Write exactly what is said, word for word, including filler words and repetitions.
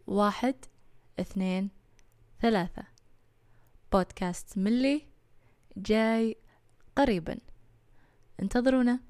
واحد اثنين ثلاثة. بودكاست ملي جاي قريبا، انتظرونا.